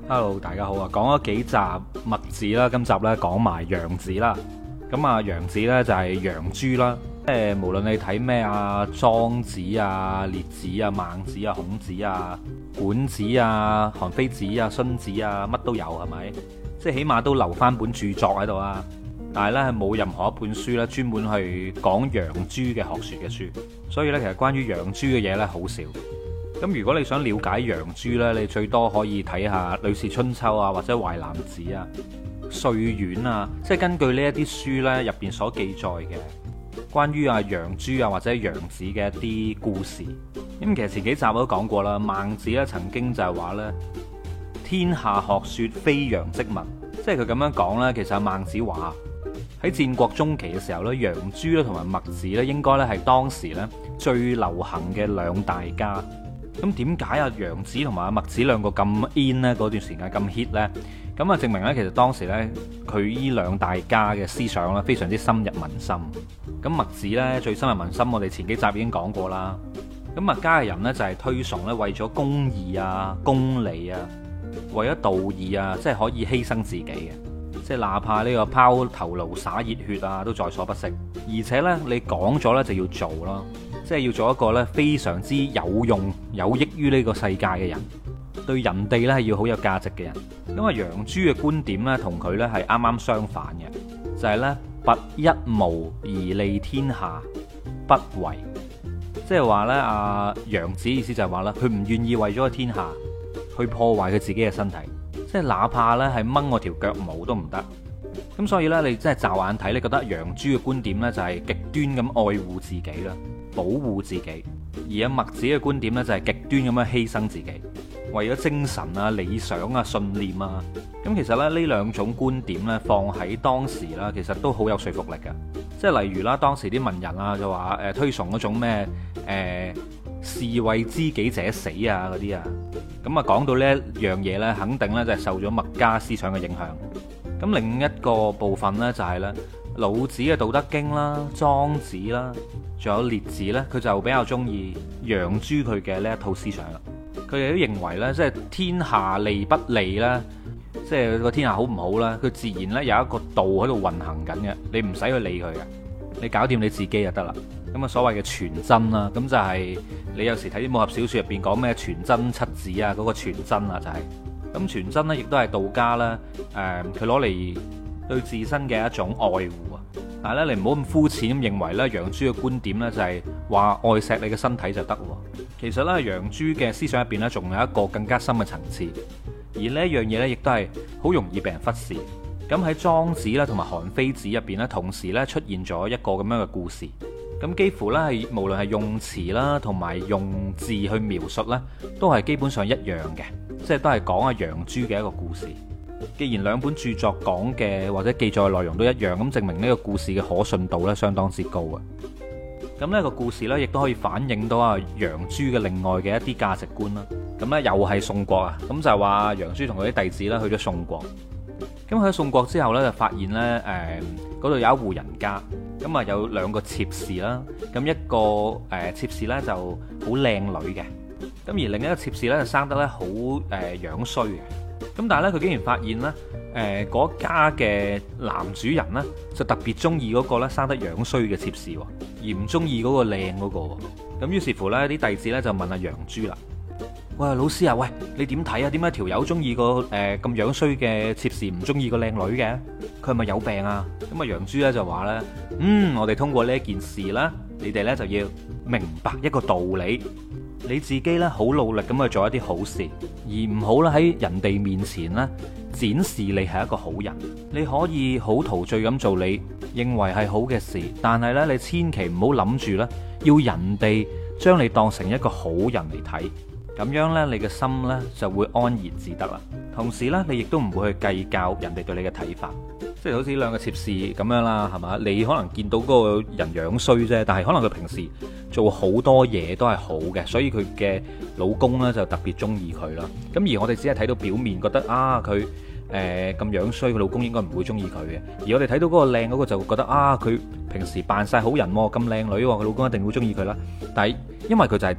Hello，大家好啊！講咗幾集墨子啦，今集咧講埋楊子啦。咁啊，楊子咧就係楊朱啦。無論你睇咩啊，莊子啊、列子啊、孟子啊、孔子啊、管子啊、韓非子啊、荀子啊，乜都有係咪？即係起碼都留翻本著作喺度啊。但係咧係冇任何一本書咧專門去講楊朱嘅學說嘅書。所以咧，其實關於楊朱嘅嘢咧好少。咁如果你想了解楊朱呢，你最多可以睇下《呂氏春秋》啊，或者《淮南子》啊、《歲苑》啊，即係根據呢一啲書呢入邊所記載嘅關於啊楊朱啊或者楊子嘅一啲故事。咁其實前幾集我都講過啦，孟子咧曾經就係話呢：「天下學說非楊即墨」，即係佢咁樣講呢，其實孟子話喺戰國中期嘅時候呢，楊朱咧同埋墨子呢應該咧係當時呢最流行嘅兩大家。咁點解啊楊子同埋阿墨子兩個咁 in 呢？嗰段時間咁 hit 呢？咁啊證明呢，其實當時呢，佢呢兩大家嘅思想呢非常之深入民心。咁墨子呢，最深入民心，我哋前幾集已經講過啦。咁墨家嘅人呢，就係推崇呢，為咗公義啊、公理啊，為咗道義啊，即係可以犧牲自己嘅。即係哪怕呢個拋頭顱灑熱血啊，都在所不惜。而且呢，你講咗呢，就要做咯。即係要做一個咧非常之有用、有益於呢個世界嘅人，對人哋咧係要好有價值嘅人。因為楊朱嘅觀點咧同佢咧係啱啱相反嘅，就係咧拔一毛而利天下，不為。即係話咧，阿楊子意思就係話咧，佢唔願意為咗個天下去破壞佢自己嘅身體，即係哪怕咧係掹我條腳毛都唔得。咁所以咧，你真係驟眼睇，你覺得楊朱嘅觀點咧就係極端咁愛護自己啦。保護自己，而阿墨子嘅觀點呢，就係極端咁樣犧牲自己，為咗精神啊、理想啊、信念啊。咁其實咧呢兩種觀點呢，放喺當時啦，其實都好有說服力嘅。即係例如啦，當時啲文人啊就話推崇嗰種咩士為知己者死啊嗰啲啊。咁啊講到呢一樣嘢呢，肯定呢就係受咗墨家思想嘅影響。咁另一個部分呢，就係呢老子嘅《道德經》啦、莊子啦。仲有列子呢，佢就比較中意楊朱佢嘅呢一套思想啦。佢哋都認為呢，即係天下利不利啦，即係個天下好唔好啦，佢自然呢有一個道喺度運行緊嘅，你唔使去理佢嘅，你搞掂你自己就得啦。咁啊，所謂嘅全真啦，咁就係你有時睇啲武俠小說入邊講咩全真七子啊，嗰個全真啊就係咁全真呢，亦都係道家啦，佢攞嚟對自身嘅一種愛護啊。但係咧，你唔好咁膚淺咁認為咧，楊朱嘅觀點咧就係話愛錫你嘅身體就得。其實咧，楊朱嘅思想入邊咧，仲有一個更加深嘅層次。而呢一樣嘢咧，亦都係好容易被人忽視。咁喺莊子啦同埋韓非子入邊咧，同時咧出現咗一個咁樣嘅故事。咁幾乎咧係無論係用詞啦同埋用字去描述咧，都係基本上一樣嘅，即係都係講阿楊朱嘅一個故事。既然兩本著作講嘅或者記載內容都一樣，咁證明呢個故事嘅可信度咧相當之高啊！咁呢個故事呢，亦都可以反映到啊楊朱嘅另外嘅一啲價值觀啦。咁呢又係宋國啊，咁就係話楊朱同佢啲弟子咧去咗宋國。咁去咗宋國之後呢，就發現呢嗰度有一戶人家，咁啊有兩個妾侍啦。咁一個妾侍呢就好靚女嘅，咁而另一個妾侍呢，就生得咧好樣衰嘅。咁但係咧，佢竟然發現咧，嗰家嘅男主人咧，就特別中意嗰個咧生得樣衰嘅妾侍，而唔中意嗰個靚嗰個。咁於是乎咧，啲弟子咧就問阿楊朱啦：喂，老師啊，喂，你點睇啊？點解條友中意個咁樣衰嘅妾侍，唔中意個靚女嘅？佢係咪有病啊？咁啊，楊朱咧就話咧：我哋通過呢一件事啦，你哋咧就要明白一個道理。你自己咧好努力咁去做一啲好事，而唔好咧喺人哋面前咧展示你係一個好人。你可以好陶醉咁做你認為係好嘅事，但係咧你千祈唔好諗住咧要人哋將你當成一個好人嚟睇，咁樣咧你嘅心咧就會安然自得啦。同時咧你亦都唔會去計較人哋對你嘅睇法。即係好似兩個妾侍咁樣啦，係嘛？你可能見到嗰個人樣衰啫，但係可能佢平時做好多嘢都係好嘅，所以佢嘅老公呢就特別中意佢啦。咁而我哋只係睇到表面，覺得啊佢咁樣衰，佢老公應該唔會中意佢嘅。而我哋睇到嗰個靚嗰個就會覺得啊，佢平時扮晒好人喎，咁靚女喎，佢老公一定會中意佢啦。但係因為佢就係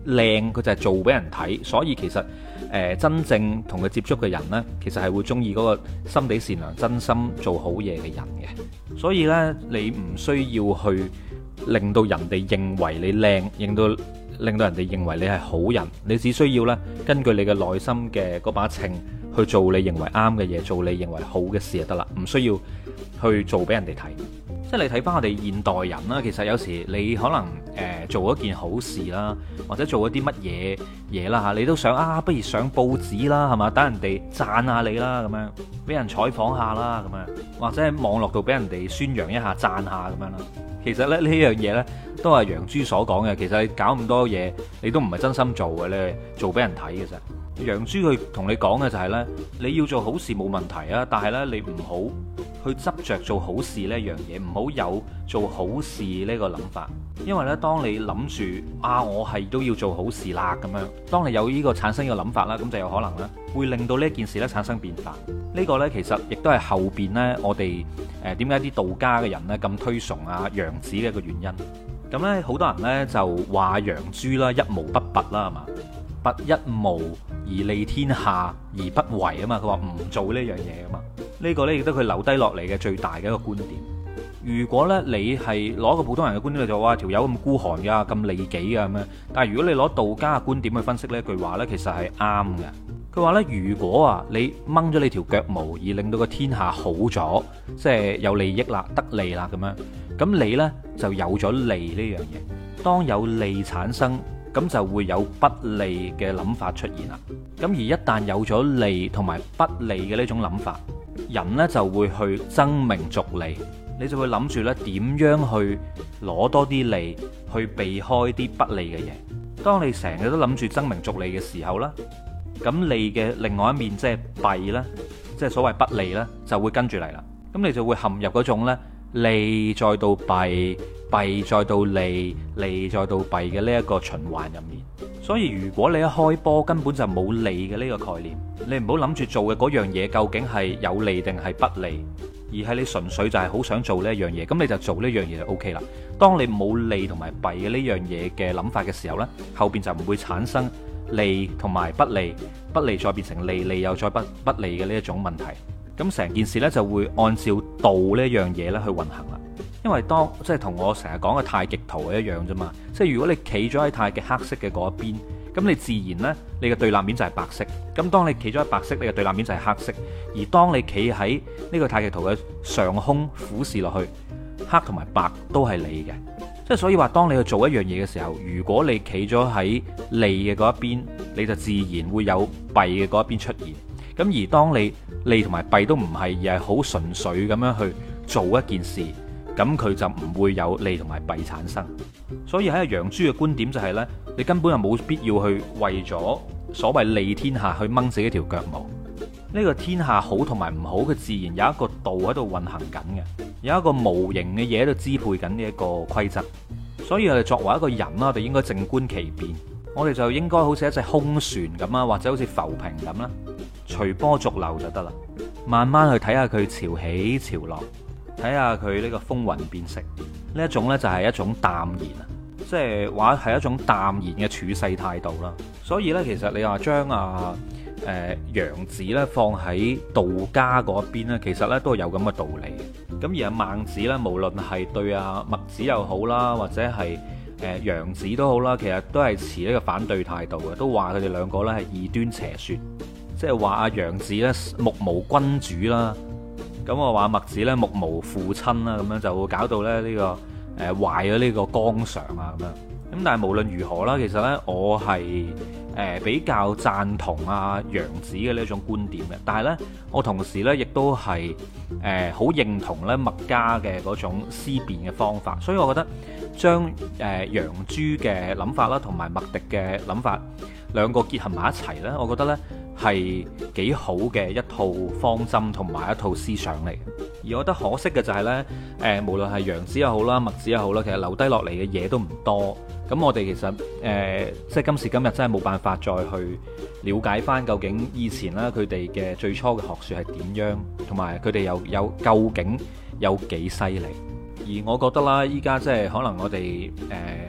靚佢就係做俾人睇，所以其實真正同佢接觸嘅人呢，其實係會中意嗰個心地善良、真心做好嘢嘅人嘅。所以呢，你唔需要去令到人哋認為你靚，令到人哋認為你係好人，你只需要呢，根據你嘅內心嘅嗰把秤去做你認為啱嘅嘢，做你認為好嘅事就得啦，唔需要去做俾人哋睇。即係你睇翻我哋現代人啦，其實有時你可能做一件好事啦，或者做一啲乜嘢嘢啦嚇，你都想不如上報紙啦，係嘛？等人哋讚下你啦，咁樣俾人採訪下啦，咁樣或者喺網絡度俾人哋宣揚一下、讚下咁樣啦。其實咧呢樣嘢呢，都係楊朱所講嘅。其實你搞咁多嘢，你都唔係真心做嘅，你係做俾人睇嘅啫。楊朱佢同你講嘅就係呢：你要做好事冇問題啊，但係呢，你唔好去執着做好事呢樣嘢，唔好有做好事呢個諗法。因為呢，當你諗住我係都要做好事啦咁樣，當你有呢個產生呢個諗法啦，咁就有可能呢會令到呢件事呢產生變化。呢個呢，其實亦都係後邊呢，我哋點解啲道家嘅人呢咁推崇楊子嘅一個原因。咁呢，好多人呢就話楊朱啦，一毛不拔啦，係嘛？拔一毛而利天下而不為啊嘛，佢話唔做呢樣嘢啊嘛。呢個呢亦都佢留低落嚟嘅最大嘅一個觀點。如果呢你係攞個普通人嘅觀點就話條友咁孤寒噶，咁利己噶咁樣，但係如果你攞道家嘅觀點去分析呢句話呢，其實係啱嘅。佢話呢，如果你掹咗你條腳毛而令到個天下好咗，即係有利益啦、得利啦咁樣，咁你呢就有咗利呢樣嘢。當有利產生，咁就會有不利嘅諗法出現啦。咁而一旦有咗利同埋不利嘅呢種諗法，人呢就會去爭名逐利，你就會諗住呢點樣去攞多啲利，去避開啲不利嘅嘢。當你成日都諗住爭名逐利嘅時候呢，咁利嘅另外一面即係弊啦，即係所謂不利呢，就會跟住嚟啦。咁你就會陷入嗰種呢利再到弊，弊再到利，利再到弊嘅呢一個循環入面。所以如果你一開波根本就冇利嘅呢個概念，你唔好諗住做嘅嗰樣嘢究竟係有利定係不利，而係你純粹就係好想做呢一樣嘢，咁你就做呢樣嘢就 OK 啦。當你冇利同埋弊嘅呢樣嘢嘅諗法嘅時候呢，後邊就唔會產生利同埋不利，不利再變成利，利又再不利嘅呢一種問題。咁成件事呢，就會按照道呢樣嘢咧去運行啦。因為即係同我成日講嘅太極圖係一樣啫嘛。即係如果你企咗喺太極黑色嘅嗰一邊，咁你自然呢，你嘅對立面就係白色。咁當你企咗喺白色，你嘅對立面就係黑色。而當你企喺呢個太極圖嘅上空俯視落去，黑同埋白都係你嘅。即係所以話，當你去做一樣嘢嘅時候，如果你企咗喺利嘅嗰一邊，你就自然會有弊嘅嗰一邊出現。咁而當你利同埋弊都唔係，而係好純粹咁樣去做一件事，咁佢就唔會有利同埋弊產生。所以喺楊朱嘅觀點就係呢：你根本就冇必要去為咗所謂利天下去掹自己條腳毛。呢個天下好同埋唔好，佢自然有一個道喺度運行緊嘅，有一個無形嘅嘢喺度支配緊呢一個規則。所以我哋作為一個人啦，我哋應該靜觀其變。我哋就應該好似一隻空船咁啊，或者好似浮萍咁啦，隨波逐流就得啦。慢慢去睇下佢潮起潮落，睇下佢呢個風雲變色。呢一種呢，就係一種淡然啊，即係話係一種淡然嘅處世態度啦。所以呢，其實你話將楊子呢放喺道家嗰邊呢，其實呢都係有咁嘅道理。咁而孟子呢，無論係對墨子又好啦，或者係楊子都好啦，其實都係持呢個反對態度嘅，都話佢哋兩個呢係異端邪說，即係話楊子呢目無君主啦，咁我話墨子呢目無父親啦，咁樣就會搞到咧呢個壞咗呢個綱常啊咁樣。咁但係無論如何啦，其實呢，我係比較贊同楊子嘅呢一種觀點嘅，但係呢，我同時呢亦都係好認同呢墨家嘅嗰種思辨嘅方法，所以我覺得將楊朱嘅諗法啦，同埋墨翟嘅諗法兩個結合埋一齊呢，我覺得呢係幾好嘅一套方針同埋一套思想嚟。而我覺得可惜嘅就係呢，無論係楊子又好啦，墨子又好啦，其實留低落嚟嘅嘢都唔多。咁我哋其實即係今時今日真係冇辦法再去了解翻究竟以前啦佢哋嘅最初嘅學説係點樣，同埋佢哋有究竟有幾犀利。而我覺得啦，依家即係可能我哋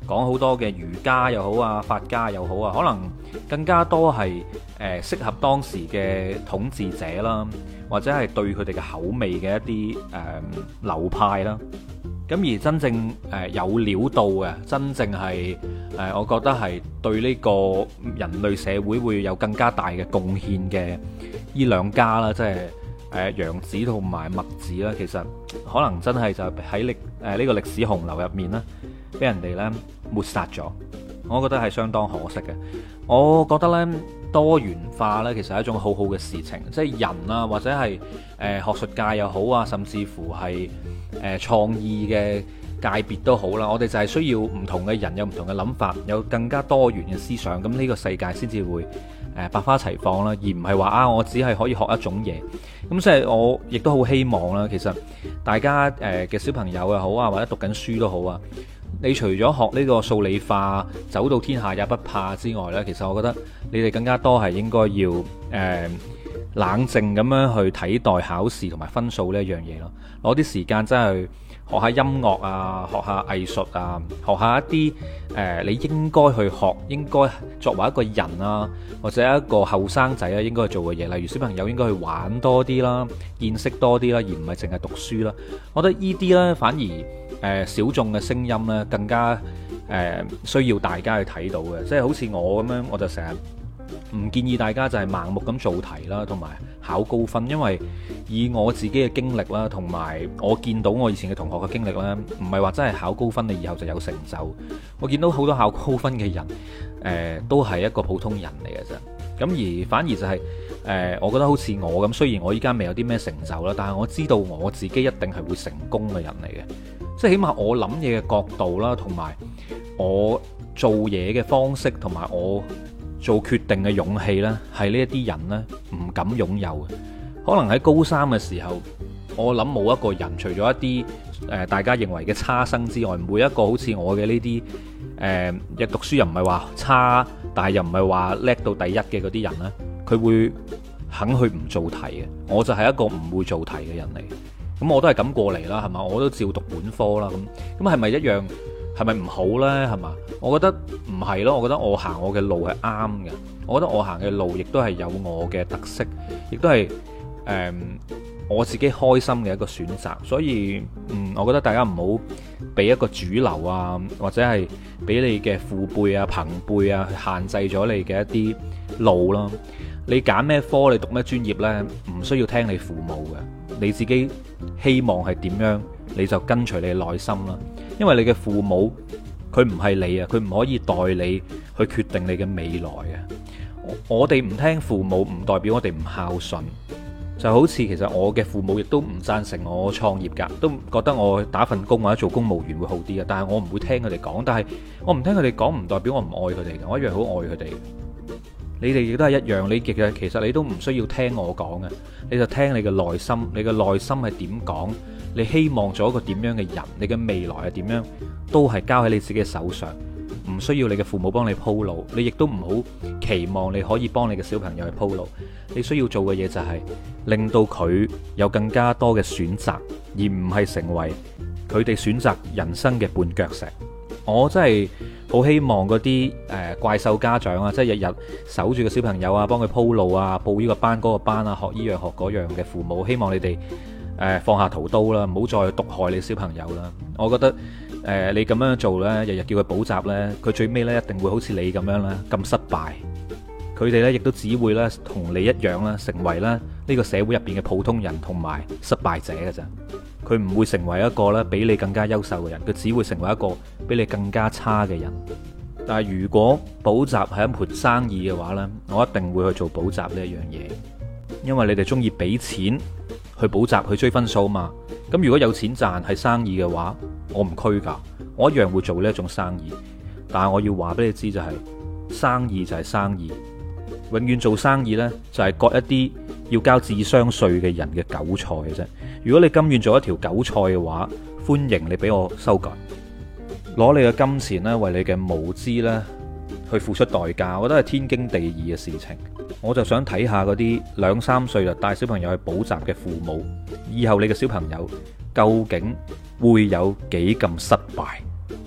講好多嘅儒家又好啊，法家又好啊，可能更加多係適合當時嘅統治者啦，或者係對佢哋嘅口味嘅一啲流派啦。咁而真正有料到嘅，真正係我覺得係對呢個人類社會會有更加大嘅貢獻嘅呢兩家啦，即係楊子同埋墨子啦。其實可能真係就喺呢個歷史洪流入面啦，俾人哋呢抹殺咗。我覺得係相當可惜嘅。我覺得呢，多元化呢，其實係一種好好嘅事情，即係人啊，或者係學術界又好啊，甚至乎係創意嘅界別都好啦。我哋就係需要唔同嘅人有唔同嘅諗法，有更加多元嘅思想，咁呢個世界先至會百花齊放啦，而唔係話我只係可以學一種嘢。咁即係我亦都好希望啦，其實大家嘅小朋友又好啊，或者讀緊書都好啊，你除咗學呢個數理化走到天下也不怕之外呢，其實我覺得你哋更加多係應該要冷靜咁樣去睇待考試同埋分數呢一樣嘢咯，攞啲時間真係學下音樂啊，學下藝術啊，學下一啲你應該去學，應該作為一個人啊，或者一個後生仔啊應該去做嘅嘢，例如小朋友應該去玩多啲啦，見識多啲啦，而唔係淨係讀書啦。我覺得呢啲呢，反而小眾嘅聲音呢，更加需要大家去睇到嘅，即係好似我咁樣，我就成日唔建議大家就係盲目咁做題啦，同埋考高分，因為以我自己嘅經歷啦，同埋我見到我以前嘅同學嘅經歷呢，唔係話真係考高分你以後就有成就。我見到好多考高分嘅人，都係一個普通人嚟嘅啫。咁而反而就係我覺得好似我咁，雖然我依家未有啲咩成就啦，但係我知道我自己一定係會成功嘅人嚟嘅。即係起碼我諗嘢嘅角度啦，同埋我做嘢嘅方式，同埋我做決定嘅勇氣呢，係呢一啲人呢唔敢擁有嘅。可能喺高三嘅時候，我諗冇一個人，除咗一啲大家認為嘅差生之外，每一個好似我嘅呢啲嘅讀書又唔係話差，但係又唔係話叻到第一嘅嗰啲人呢，佢會肯去唔做題嘅。我就係一個唔會做題嘅人嚟。咁我都係咁過嚟啦，係嘛？我都照讀本科啦，咁係咪一樣？係咪唔好呢？係嘛？我覺得唔係咯，我覺得我行我嘅路係啱嘅。我覺得我行嘅路亦都係有我嘅特色，亦都係我自己開心嘅一個選擇。所以我覺得大家唔好俾一個主流啊，或者係俾你嘅父輩啊、朋輩啊去限制咗你嘅一啲路咯。你揀咩科，你讀咩專業呢？唔需要聽你父母嘅。你自己希望係點樣，你就跟隨你嘅內心啦。因為你嘅父母佢唔係你啊，佢唔可以代你去決定你嘅未來嘅。我哋唔聽父母唔代表我哋唔孝順。就好似其實我嘅父母亦都唔贊成我創業㗎，都覺得我打份工或者做公務員會好啲嘅。但係我唔會聽佢哋講，但係我唔聽佢哋講唔代表我唔愛佢哋嘅，我一樣好愛佢哋。你哋亦都係一樣，你其實你都唔需要聽我講嘅，你就聽你嘅內心，你嘅內心係點講，你希望做一個點樣嘅人，你嘅未來係點樣，都係交喺你自己嘅手上，唔需要你嘅父母幫你鋪路，你亦都唔好期望你可以幫你嘅小朋友去鋪路。你需要做嘅嘢就係令到佢有更加多嘅選擇，而唔係成為佢哋選擇人生嘅絆腳石。我真係好希望嗰啲怪獸家長啊，即係日日守住個小朋友啊，幫佢鋪路啊，報呢個班嗰個班啊，學呢樣學嗰樣嘅父母，希望你哋放下屠刀啦，唔好再毒害你小朋友啦。我覺得你咁樣做呢，日日叫佢補習呢，佢最尾呢一定會好似你咁樣啦，咁失敗。佢哋呢亦都只會呢同你一樣啦，成為呢個社會入邊嘅普通人同埋失敗者嘅咋。佢唔會成為一個呢比你更加優秀嘅人，佢只會成為一個比你更加差嘅人。但係如果補習係一盤生意嘅話呢，我一定會去做補習呢一樣嘢，因為你哋中意俾錢去補習去追分數嘛。咁如果有錢賺係生意嘅話，我唔拘㗎，我一樣會做呢一種生意。但係我要話俾你知就係，生意就係生意，永遠做生意呢，就係割一啲要交智商稅嘅人嘅韭菜嘅啫。如果你甘願做一條韭菜嘅話，歡迎你俾我修改，攞你嘅金錢呢，為你嘅無知呢去付出代價，我覺得係天經地義嘅事情。我就想睇下嗰啲2、3歲就帶小朋友去補習嘅父母，以後你嘅小朋友究竟會有幾咁失敗？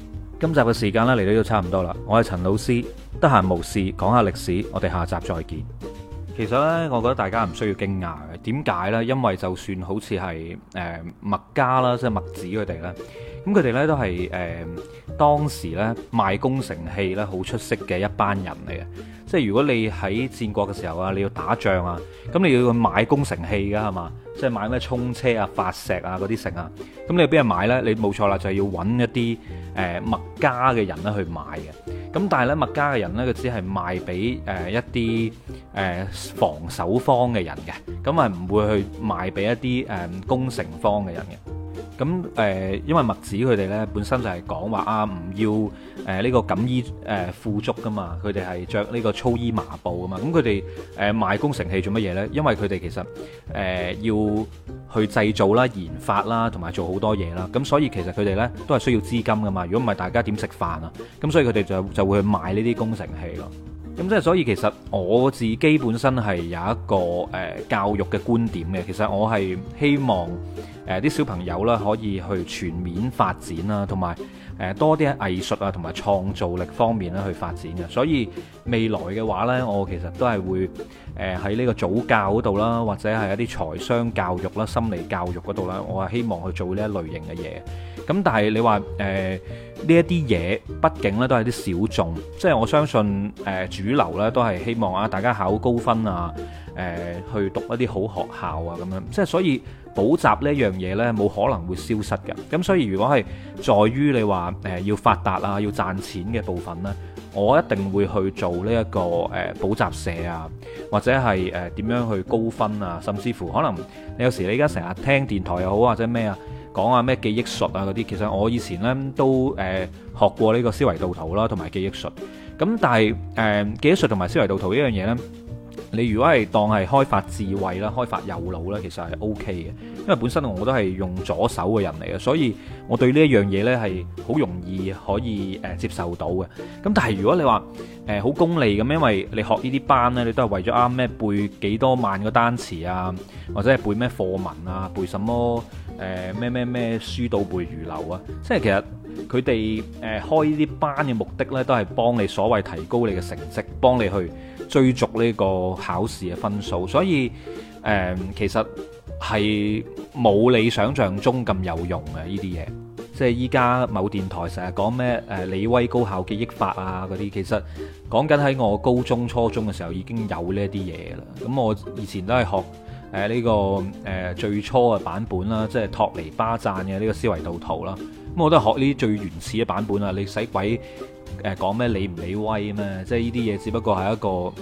今集嘅時間咧嚟到都差唔多啦，我係陳老師，得閒無事講下歷史，我哋下集再見。其實呢，我覺得大家唔需要驚訝嘅。點解呢？因為就算好似係墨家啦，即係墨子佢哋咧，咁佢哋呢都係當時呢賣攻城器咧好出色嘅一班人嚟嘅。即係如果你喺戰國嘅時候啊，你要打仗啊，咁你要去買攻城器噶係嘛？即係買咩衝車啊、發石啊嗰啲城啊，咁你要俾人買呢？你冇錯啦，就係要揾一啲墨家嘅人咧去買嘅。咁但係咧，墨家嘅人呢，佢只係賣俾一啲防守方嘅人嘅，咁係唔會去賣俾一啲攻城方嘅人嘅。咁因為墨子佢哋呢本身就係講話啊，唔要呢個錦衣富足噶嘛，佢哋係着呢個粗衣麻布噶嘛。咁佢哋賣攻城器做乜嘢呢？因為佢哋其實要去製造啦、研發啦，同埋做好多嘢啦。咁所以其實佢哋呢都係需要資金噶嘛。如果唔係，大家點食飯啊？咁所以佢哋就會去賣呢啲攻城器咯。咁即係所以其實我自己本身係有一個教育嘅觀點嘅。其實我係希望啲小朋友啦可以去全面發展啦，同埋多啲喺藝術啊同埋創造力方面咧去發展嘅。所以未來嘅話呢，我其實都係會喺呢個早教嗰度啦，或者係一啲財商教育啦、心理教育嗰度啦，我係希望去做呢一類型嘅嘢。咁但係你話呢一啲嘢，畢竟咧都係啲小眾，即係我相信主流咧都係希望啊大家考高分啊，去讀一啲好學校啊咁樣，即係所以補習呢樣嘢呢，冇可能會消失嘅。咁所以如果係在於你話要發達啊、要賺錢嘅部分呢，我一定會去做呢一個補習社啊，或者係點樣去高分啊，甚至乎可能你有時你而家成日聽電台又好或者咩啊，講下咩記憶術啊嗰啲，其實我以前呢都學過呢個思維導圖啦，同埋記憶術。咁但係記憶術同埋思維導圖呢樣嘢呢，你如果係當係開發智慧啦、開發右腦呢，其實係 OK 嘅。因為本身我都係用左手嘅人嚟嘅，所以我對呢一樣嘢呢係好容易可以接受到嘅。咁但係如果你話好功利咁，因為你學呢啲班呢，你都係為咗啱咩背幾多萬個單詞啊，或者係背咩課文啊，背什麼咩書到背如流啊。即係其實佢哋開呢啲班嘅目的呢，都係幫你所謂提高你嘅成績，幫你去追逐呢個考試嘅分數。所以其實係冇你想象中咁有用嘅呢啲嘢。即係依家某電台成日講咩李威高效記憶法啊嗰啲，其實講緊喺我高中初中嘅時候已經有呢啲嘢啦。咁我以前都係學呢個最初嘅版本啦，即係托尼巴贊嘅呢個思維導圖啦。咁我都係學呢啲最原始嘅版本啦。你使鬼講咩李唔李威咩？即係呢啲嘢只不過係一個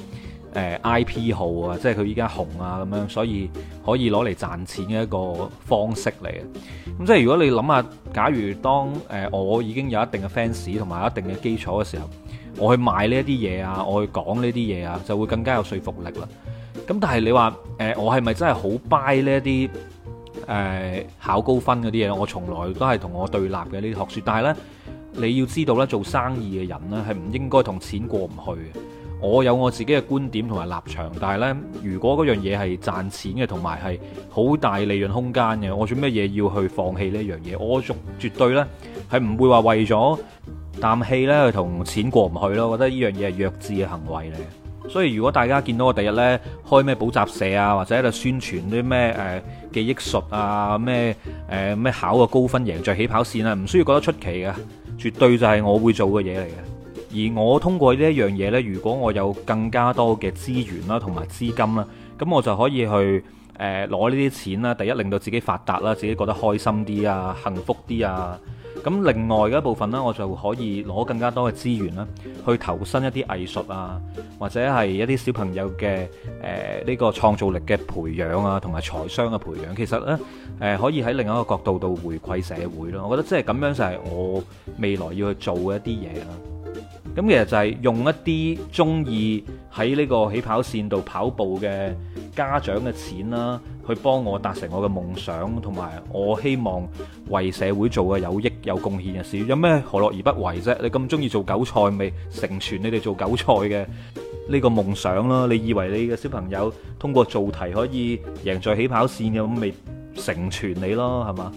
IP 號啊，即係佢依家紅啊咁樣，所以可以攞嚟賺錢嘅一個方式嚟嘅。咁即係如果你諗下，假如當我已經有一定嘅 fans 同埋一定嘅基礎嘅時候，我去賣呢一啲嘢啊，我去講呢啲嘢啊，就會更加有說服力啦。咁但係你話我係咪真係好 buy 呢一啲考高分嗰啲嘢？我從來都係同我對立嘅呢啲學說。但係呢，你要知道呢，做生意嘅人呢係唔應該同錢過唔去嘅。我有我自己嘅觀點同埋立場，但係呢，如果嗰樣嘢係賺錢嘅，同埋係好大利潤空間嘅，我做咩嘢要去放棄呢樣嘢？我絕對呢係唔會話為咗啖氣呢去同錢過唔去咯。我覺得呢樣嘢係弱智嘅行為嚟。所以如果大家見到我第日呢開咩補習社啊，或者喺度宣傳啲咩記憶術啊，咩考個高分贏在起跑線啊，唔需要覺得出奇嘅，絕對就係我會做嘅嘢嚟嘅。而我通過呢一樣嘢呢，如果我有更加多嘅資源啦，同埋資金啦，咁我就可以去攞呢啲錢啦。第一，令到自己發達啦，自己覺得開心啲啊，幸福啲啊。咁另外嘅一部分呢，我就可以攞更加多嘅資源啦，去投身一啲藝術啊，或者係一啲小朋友嘅呢個創造力嘅培養啊，同埋財商嘅培養。其實呢，可以喺另一個角度度回饋社會咯。我覺得即係咁樣就係我未來要去做嘅一啲嘢啦。咁其實就係用一啲中意喺呢個起跑線度跑步嘅家長嘅錢啦，去幫我達成我嘅夢想，同埋我希望為社會做嘅有益有貢獻嘅事。有咩何樂而不為啫？你咁中意做韭菜，咪成全你哋做韭菜嘅呢個夢想啦。你以為你嘅小朋友通過做題可以贏在起跑線嘅，咁咪成全你咯，係嘛？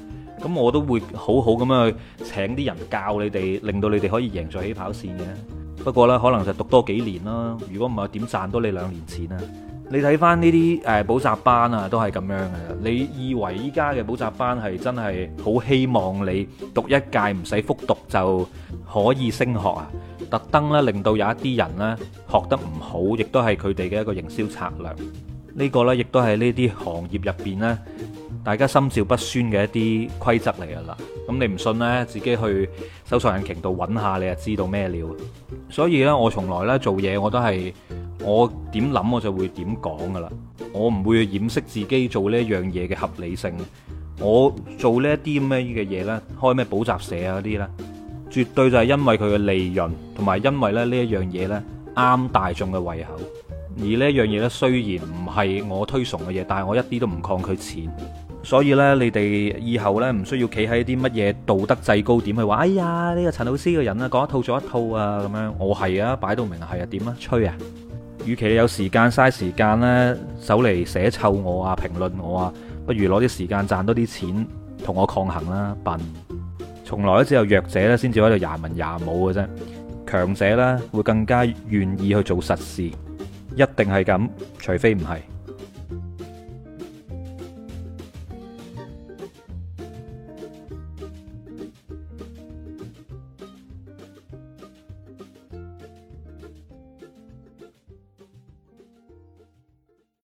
咁我都會好好咁樣去請啲人教你哋，令到你哋可以贏在起跑線嘅。不過呢，可能就讀多幾年啦。如果唔係，點賺到你2年錢啊？你睇翻呢啲補習班啊，都係咁樣嘅。你以為依家嘅補習班係真係好希望你讀一屆唔使復讀就可以升學啊？特登咧令到有一啲人呢學得唔好，亦都係佢哋嘅一個營銷策略。呢個呢，亦都係呢啲行業入邊呢，大家心照不宣嘅一啲規則嚟噶啦。咁你唔信呢，自己去搜索引擎度揾下，你就知道咩料。所以呢，我從來呢做嘢我都係我點諗我就會點講噶啦。我唔會掩飾自己做呢一樣嘢嘅合理性。我做呢一啲咁嘅嘢呢，開咩補習社啊嗰啲呢，絕對就係因為佢嘅利潤，同埋因為咧呢一樣嘢呢啱大眾嘅胃口。而呢一樣嘢呢，雖然唔係我推崇嘅嘢，但係我一啲都唔抗拒錢。所以呢，你哋以後呢，唔需要企喺啲乜嘢道德制高點去話，哎呀呢個陳老師嘅人啊講一套做一套啊咁樣。我係啊，擺到明係啊，點啊吹啊！與其你有時間嘥時間呢，走嚟寫臭我啊，評論我啊，不如攞啲時間賺多啲錢同我抗衡啦，笨！從來都只有弱者咧先至喺度廿文廿武嘅啫，強者呢會更加願意去做實事，一定係咁，除非唔係。